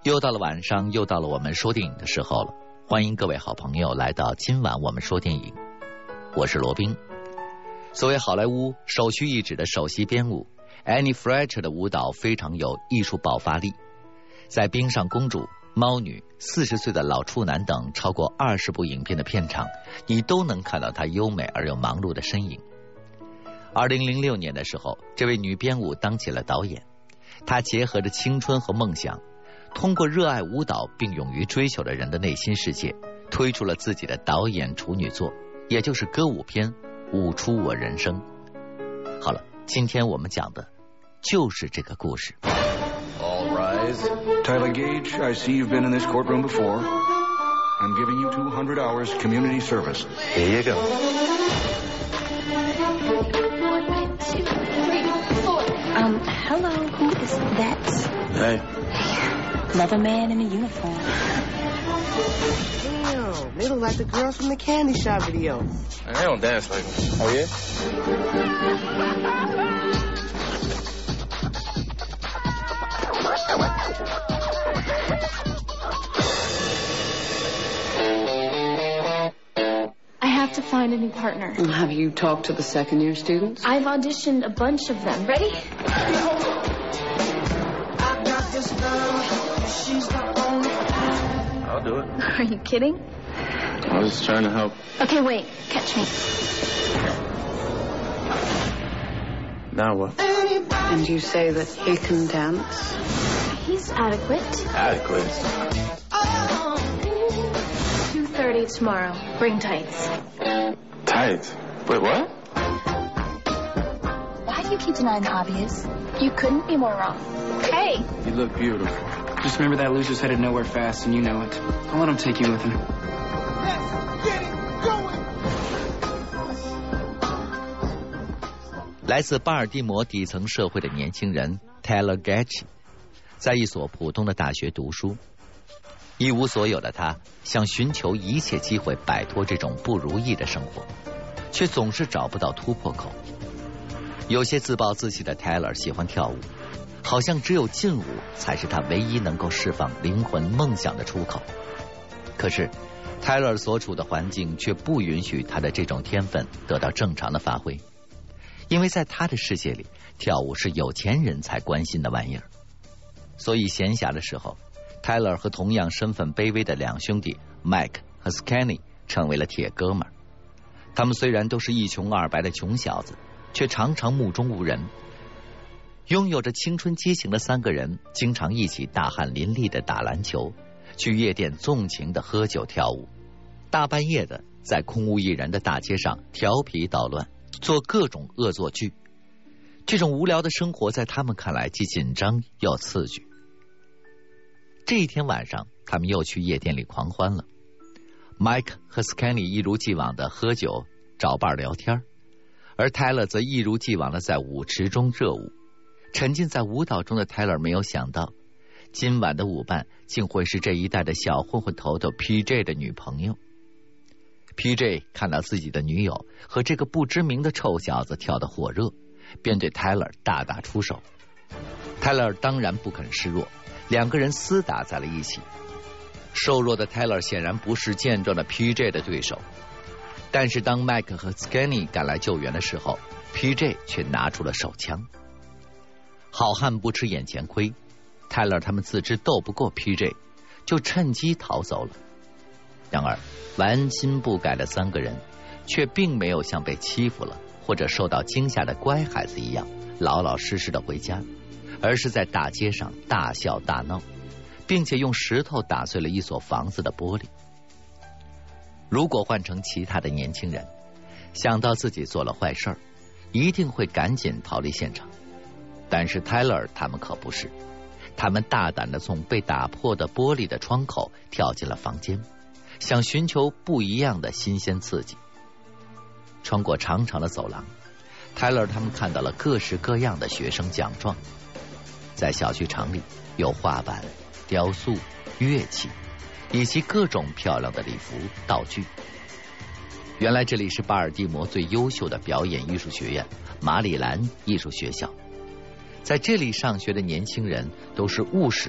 又到了晚上，又到了我们说电影的时候了。欢迎各位好朋友来到今晚我们说电影，我是罗宾。作为好莱坞首屈一指的首席编舞 Annie Fletcher 的舞蹈非常有艺术爆发力，在冰上公主、猫女、40岁的老处男等超过20部影片的片场，你都能看到她优美而又忙碌的身影。2006年的时候，这位女编舞当起了导演，她结合着青春和梦想，通过热爱舞蹈并勇于追求的人的内心世界，推出了自己的导演处女作，也就是歌舞片《舞出我人生》。好了，今天我们讲的就是这个故事。 All rise. Tyler Gage, I see you've been in this courtroom before. I'm giving you 200 hours community service. Here you go. 1, 2, 3, 4. Hello, who is that? Hey. Another man in a uniform. Damn, they look like the girls from the Candy Shop video. They don't dance like them. Oh, yeah? I have to find a new partner. Have you talked to the second-year students? I've auditioned a bunch of them. Ready? I'll do it. Are you kidding? I was trying to help. Okay, wait. Catch me. Now what? And you say that he can dance? He's adequate. Adequate. 2:30 tomorrow. Bring tights. Tight. Wait, what? Why do you keep denying the obvious? You couldn't be more wrong. Hey! You look beautiful. Just remember that loser's headed nowhere fast, and you know it. Don't let him take you with him. Let's get it going! 来自巴尔的摩底层社会的年轻人 Tyler Gage 在一所普通的大学读书，一无所有的他想寻求一切机会摆脱这种不如意的生活，却总是找不到突破口。有些自暴自弃的 Tyler 喜欢跳舞，好像只有劲舞才是他唯一能够释放灵魂梦想的出口。可是 Tyler 所处的环境却不允许他的这种天分得到正常的发挥，因为在他的世界里，跳舞是有钱人才关心的玩意儿。所以闲暇的时候， Tyler 和同样身份卑微的两兄弟 Mike 和 Skinny 成为了铁哥们儿。他们虽然都是一穷二白的穷小子，却常常目中无人。拥有着青春激情的三个人经常一起大汗淋漓的打篮球，去夜店纵情的喝酒跳舞，大半夜的在空无一人的大街上调皮捣乱，做各种恶作剧。这种无聊的生活在他们看来既紧张又刺激。这一天晚上，他们又去夜店里狂欢了。Mike 和 Skinny 一如既往的喝酒找伴聊天，而 Tyler 则一如既往的在舞池中热舞。沉浸在舞蹈中的 Tyler 没有想到，今晚的舞伴竟会是这一带的小混混头头 PJ 的女朋友。PJ 看到自己的女友和这个不知名的臭小子跳得火热，便对 Tyler 大打出手。Tyler 当然不肯示弱，两个人厮打在了一起。瘦弱的 Tyler 显然不是健壮的 PJ 的对手，但是当 Mike 和 Skinny 赶来救援的时候， PJ 却拿出了手枪。好汉不吃眼前亏， Tyler 他们自知斗不过 PJ， 就趁机逃走了。然而顽心不改的三个人却并没有像被欺负了或者受到惊吓的乖孩子一样老老实实的回家，而是在大街上大笑大闹，并且用石头打碎了一所房子的玻璃。如果换成其他的年轻人，想到自己做了坏事，一定会赶紧逃离现场。但是 Tyler 他们可不是，他们大胆地从被打破的玻璃的窗口跳进了房间，想寻求不一样的新鲜刺激。穿过长长的走廊， Tyler 他们看到了各式各样的学生奖状。在小剧场里有画板、雕塑、乐器以及各种漂亮的礼服道具。原来这里是巴尔的摩最优秀的表演艺术学院马里兰艺术学校，在这里上学的年轻人都是务实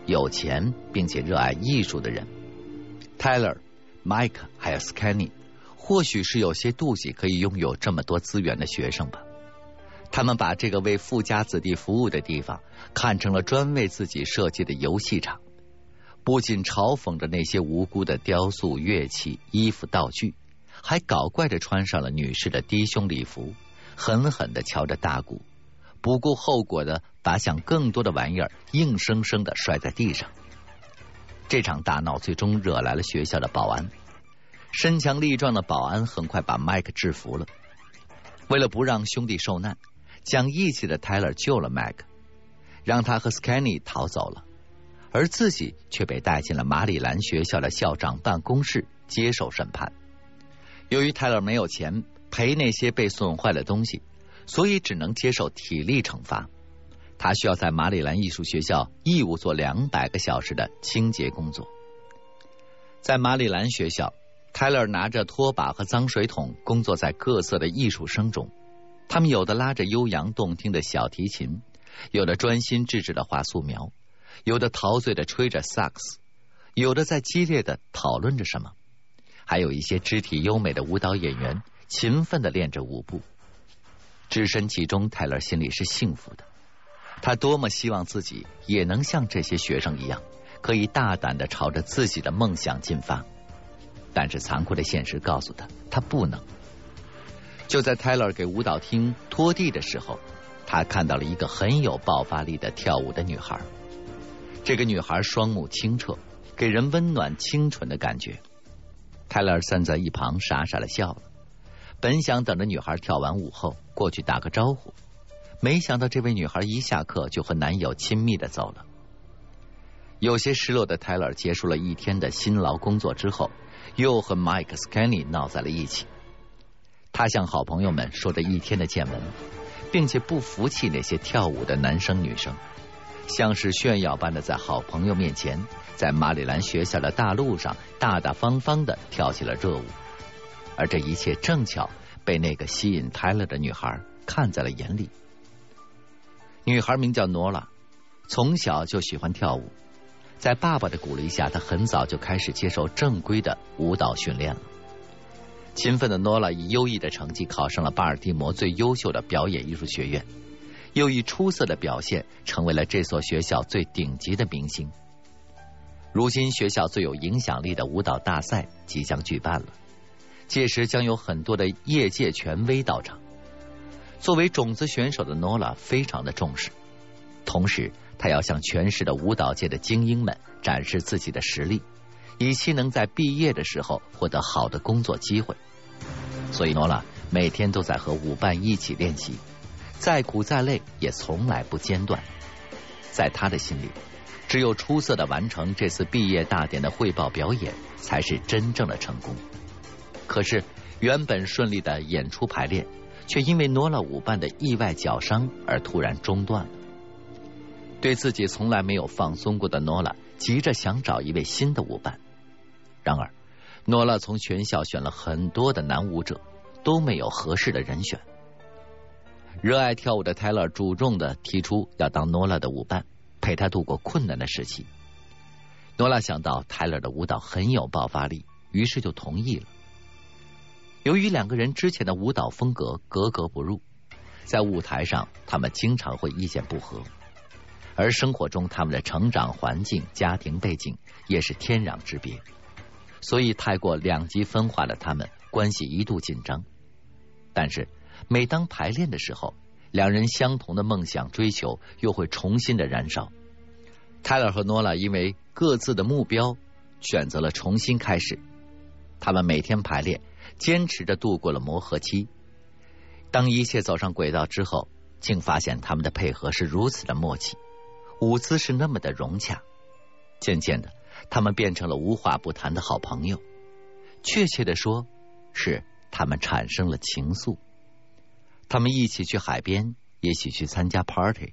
有钱并且热爱艺术的人。Tyler、Mike 还有 Scanny 或许是有些妒忌可以拥有这么多资源的学生吧。他们把这个为富家子弟服务的地方看成了专为自己设计的游戏场，不仅嘲讽着那些无辜的雕塑、乐器、衣服、道具，还搞怪地穿上了女士的低胸礼服，狠狠地敲着大鼓，不顾后果的把想更多的玩意儿硬生生地摔在地上。这场大闹最终惹来了学校的保安，身强力壮的保安很快把麦克制服了。为了不让兄弟受难，讲义气的 Tyler 救了麦克，让他和 Scanny 逃走了，而自己却被带进了马里兰学校的校长办公室接受审判。由于 Tyler 没有钱赔那些被损坏的东西，所以只能接受体力惩罚。他需要在马里兰艺术学校义务做200个小时的清洁工作。在马里兰学校，Tyler 拿着拖把和脏水桶工作在各色的艺术生中，他们有的拉着悠扬动听的小提琴，有的专心致志的画素描，有的陶醉的吹着萨克斯，有的在激烈的讨论着什么，还有一些肢体优美的舞蹈演员勤奋地练着舞步。置身其中，Tyler 心里是幸福的。他多么希望自己也能像这些学生一样，可以大胆地朝着自己的梦想进发。但是残酷的现实告诉他，他不能。就在 Tyler 给舞蹈厅拖地的时候，他看到了一个很有爆发力的跳舞的女孩。这个女孩双目清澈，给人温暖清纯的感觉。Tyler 站在一旁傻傻地笑了，本想等着女孩跳完舞后过去打个招呼，没想到这位女孩一下课就和男友亲密地走了。有些失落的 Tyler 结束了一天的辛劳工作之后，又和 Mike Scanny 闹在了一起。他向好朋友们说着一天的见闻，并且不服气那些跳舞的男生女生，像是炫耀般的在好朋友面前，在马里兰学校的大路上大大方方的跳起了热舞。而这一切正巧被那个吸引 Tyler 的女孩看在了眼里。女孩名叫 Nola， 从小就喜欢跳舞，在爸爸的鼓励下，她很早就开始接受正规的舞蹈训练了。勤奋的 Nola 以优异的成绩考上了巴尔的摩最优秀的表演艺术学院，又以出色的表现成为了这所学校最顶级的明星。如今学校最有影响力的舞蹈大赛即将举办了，届时将有很多的业界权威到场。作为种子选手的 Nola 非常的重视，同时他要向全市的舞蹈界的精英们展示自己的实力，以期能在毕业的时候获得好的工作机会。所以 Nola 每天都在和舞伴一起练习，再苦再累也从来不间断。在他的心里，只有出色的完成这次毕业大典的汇报表演，才是真正的成功。可是原本顺利的演出排练，却因为Nola舞伴的意外脚伤而突然中断了。对自己从来没有放松过的Nola急着想找一位新的舞伴。然而Nola从全校选了很多的男舞者，都没有合适的人选。热爱跳舞的 Tyler 主动的提出要当Nola的舞伴，陪他度过困难的时期。Nola想到 Tyler 的舞蹈很有爆发力，于是就同意了。由于两个人之前的舞蹈风格格格不入，在舞台上他们经常会意见不合，而生活中他们的成长环境、家庭背景也是天壤之别，所以太过两极分化的他们关系一度紧张。但是每当排练的时候，两人相同的梦想追求又会重新的燃烧。Tyler 和 Nola 因为各自的目标选择了重新开始，他们每天排练，坚持着度过了磨合期。当一切走上轨道之后，竟发现他们的配合是如此的默契，舞姿是那么的融洽。渐渐的，他们变成了无话不谈的好朋友，确切的说，是他们产生了情愫。他们一起去海边，一起去参加 party。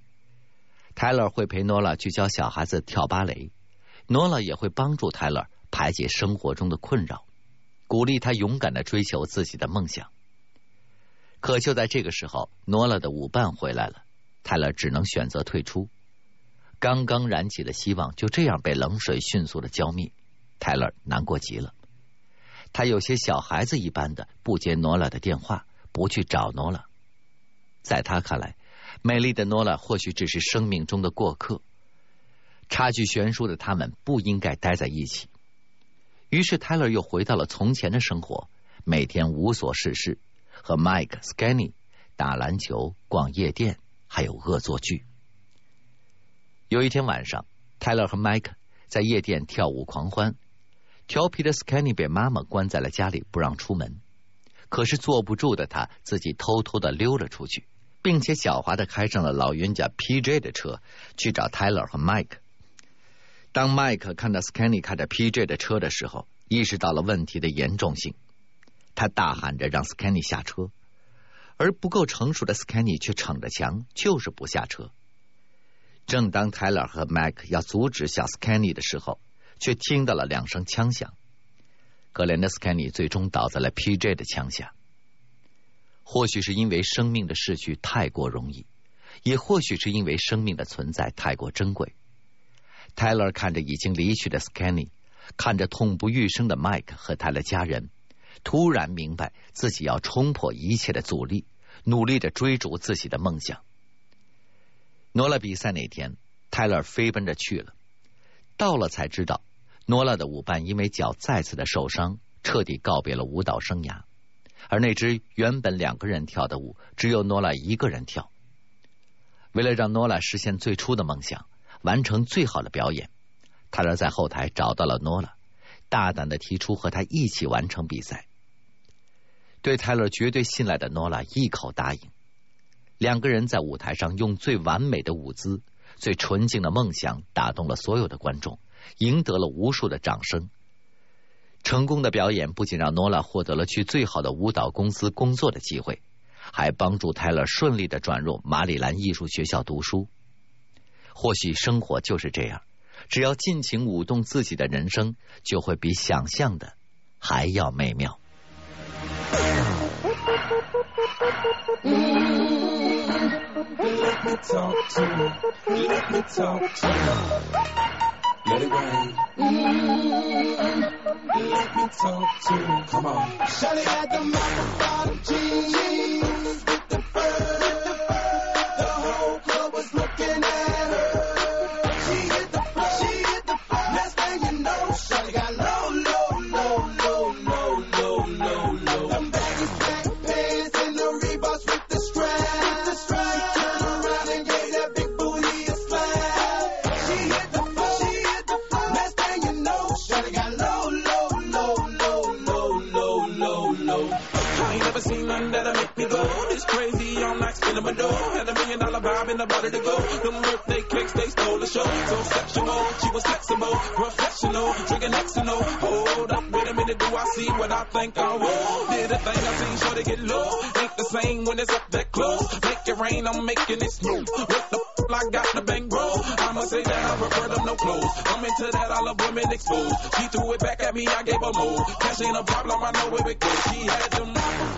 Tyler 会陪 Nola 去教小孩子跳芭蕾， Nola 也会帮助 Tyler 排解生活中的困扰，鼓励他勇敢的追求自己的梦想。可就在这个时候， Nola 的舞伴回来了， Tyler 只能选择退出。 刚刚燃起的希望就这样被冷水迅速的浇灭，泰勒难过极了。他有些小孩子一般的不接诺拉的电话，不去找诺拉。在他看来，美丽的诺拉或许只是生命中的过客，差距悬殊的他们不应该待在一起。于是泰勒又回到了从前的生活，每天无所事事，和 Mike、Skinny 打篮球、逛夜店，还有恶作剧。有一天晚上，泰勒和 Mike 在夜店跳舞狂欢，调皮的 Skinny 被妈妈关在了家里，不让出门。可是坐不住的他自己偷偷的溜了出去，并且狡猾的开上了老冤家 PJ 的车去找 Tyler 和 Mike。 当 Mike 看到 Skinny 开着 PJ 的车的时候，意识到了问题的严重性，他大喊着让 Skinny 下车，而不够成熟的 Skinny 却逞着强，就是不下车。正当 Tyler 和 Mike 要阻止小 Skinny 的时候，却听到了2声枪响。可怜的 Skinny 最终倒在了 PJ 的枪下。或许是因为生命的逝去太过容易，也或许是因为生命的存在太过珍贵。Tyler 看着已经离去的 Skinny， 看着痛不欲生的 Mike 和他的家人，突然明白自己要冲破一切的阻力，努力地追逐自己的梦想。诺拉比赛那天，泰勒飞奔着去了，到了才知道，诺拉的舞伴因为脚再次的受伤，彻底告别了舞蹈生涯，而那支原本2个人跳的舞，只有诺拉1个人跳。为了让诺拉实现最初的梦想，完成最好的表演，泰勒在后台找到了诺拉，大胆的提出和他一起完成比赛。对泰勒绝对信赖的诺拉一口答应。2个人在舞台上用最完美的舞姿、最纯净的梦想打动了所有的观众，赢得了无数的掌声。成功的表演不仅让诺拉获得了去最好的舞蹈公司工作的机会，还帮助泰勒顺利的转入马里兰艺术学校读书。或许生活就是这样，只要尽情舞动自己的人生，就会比想象的还要美妙。 Let me talk to you. Let me talk to you. Let it rain. Let me talk to you. Come on. Shawty had the microphone jeans with the fur. The whole club was looking at her. She hit the floor. She hit the floor. Next thing you know, Shawty got low, low, low, low, low, low, low, low. Them baggy black pants and the Reeboks with the strap. Crazy all night spinning my door. Had $1 million vibe and about to go. Them birthday cakes, they stole the show. So sexual, she was flexible, professional, drinking Xanol. Hold up, wait a minute, do I see what I think I will? Did a thing I seen, sure to get low. Ain't the same when it's up that close. Make it rain, I'm making it snow. What the f*** I got the bang bro? I'ma say that I prefer them no clothes. I'm into that, I love women exposed. She threw it back at me, I gave her more. Cash ain't a problem, I know where it goes. She had them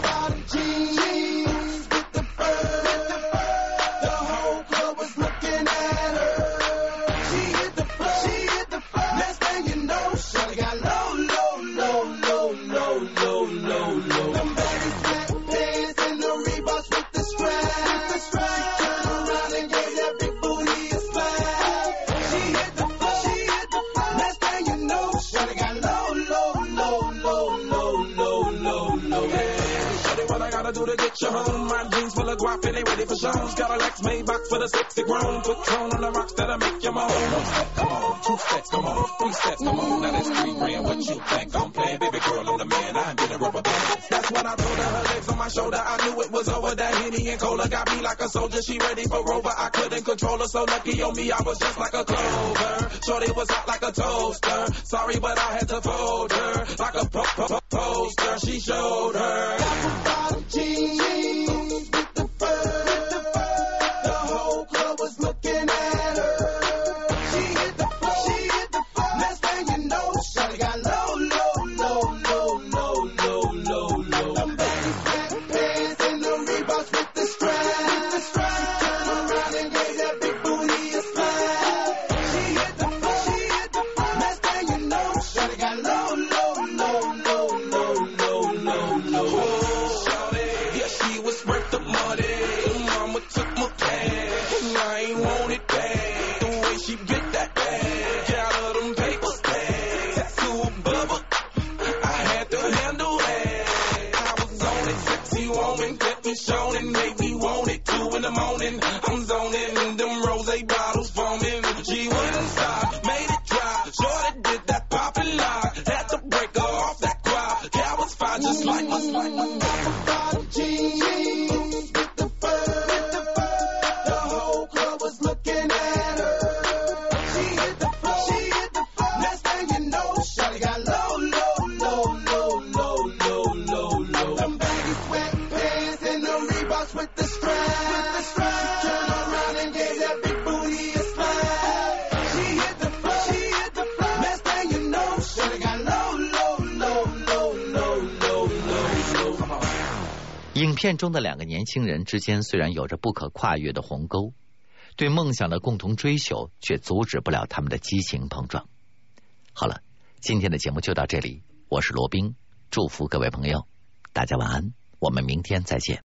jeans with the fur. The whole club was looking at her. She hit the floor. She hit the floor. Next thing you know, Shawty got low, low, low, low, low, low, low, low. Them baggy black pants and the Reeboks with the strap. She turned around and gave that big booty a slap. She hit the floor. She hit the floor. Next thing you know, Shawty got low, low, low, low, low, low, low, low. What I gotta do to get you home? My jeans full of guap and they ready for shows. Got a Lex Maybach for the sexy grown. Put Patron on the rocks that'll make you moan. 1 step, come on, 2 steps, come on, 3 steps, come on. Now that's 3 grand. What you think I'm playing? Baby girl, I'm the man. I ain't been a rubber band. That's when I told her, her legs on my shoulder. I knew it was over. That Henny and Cola got me like a soldier. She ready for Rover. I couldn't control her. So lucky on me, I was just like a clover. Shorty was hot like a toaster. Sorry, but I had to fold her like a poster. She showed her. Jeans with the fur. The whole club was looking at her. She hit the floor. She hit the floor. Next thing you know, Shawty got low, low, low, low, low, low, low, low. Them baggy black pants and the Reeboks with the strap. She turned around and gave that big booty a slap. 影片中的两个年轻人之间虽然有着不可跨越的鸿沟，对梦想的共同追求却阻止不了他们的激情碰撞。好了，今天的节目就到这里，我是罗宾，祝福各位朋友，大家晚安，我们明天再见。